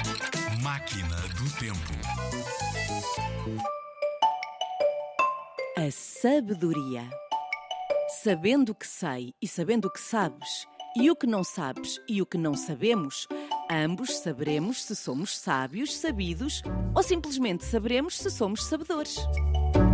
Máquina do Tempo. A sabedoria. Sabendo o que sei e sabendo o que sabes, e o que não sabes e o que não sabemos, ambos saberemos se somos sábios, sabidos ou simplesmente saberemos se somos sabedores.